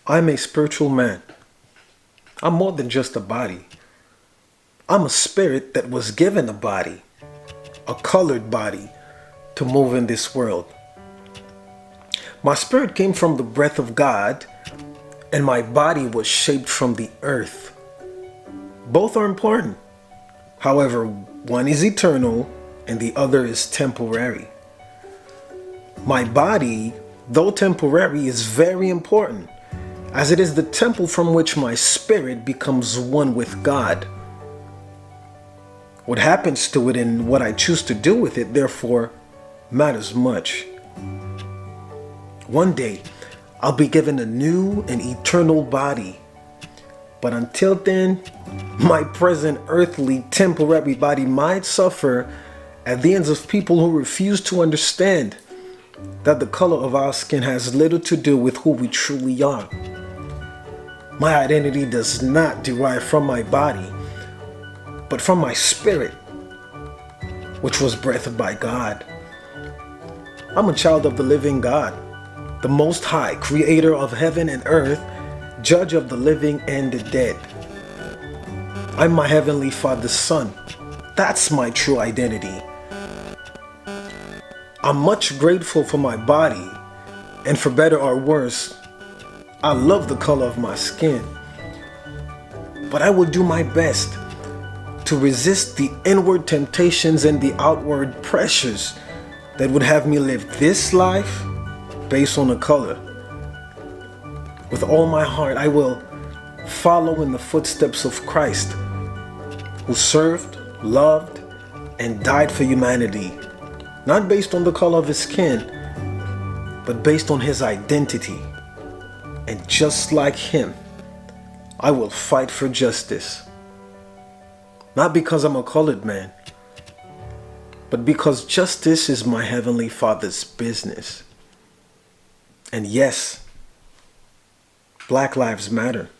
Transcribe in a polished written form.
I'm a spiritual man. I'm more than just a body. I'm a spirit that was given a body, a colored body, to move in this world. My spirit came from the breath of God, and my body was shaped from the earth. Both are important. However, one is eternal and the other is temporary. My body, though temporary, is very important, as it is the temple from which my spirit becomes one with God. What happens to it and what I choose to do with it, therefore, matters much. One day, I'll be given a new and eternal body. But until then, my present earthly temporary body might suffer at the hands of people who refuse to understand that the color of our skin has little to do with who we truly are. My identity does not derive from my body, but from my spirit, which was breathed by God. I'm a child of the living God, the Most High, creator of heaven and earth, judge of the living and the dead. I'm my Heavenly Father's son. That's my true identity. I'm much grateful for my body, and for better or worse, I love the color of my skin. But I will do my best to resist the inward temptations and the outward pressures that would have me live this life based on the color. With all my heart, I will follow in the footsteps of Christ, who served, loved, and died for humanity, not based on the color of his skin, but based on his identity. And just like him, I will fight for justice. Not because I'm a colored man, but because justice is my Heavenly Father's business. And yes, Black lives matter.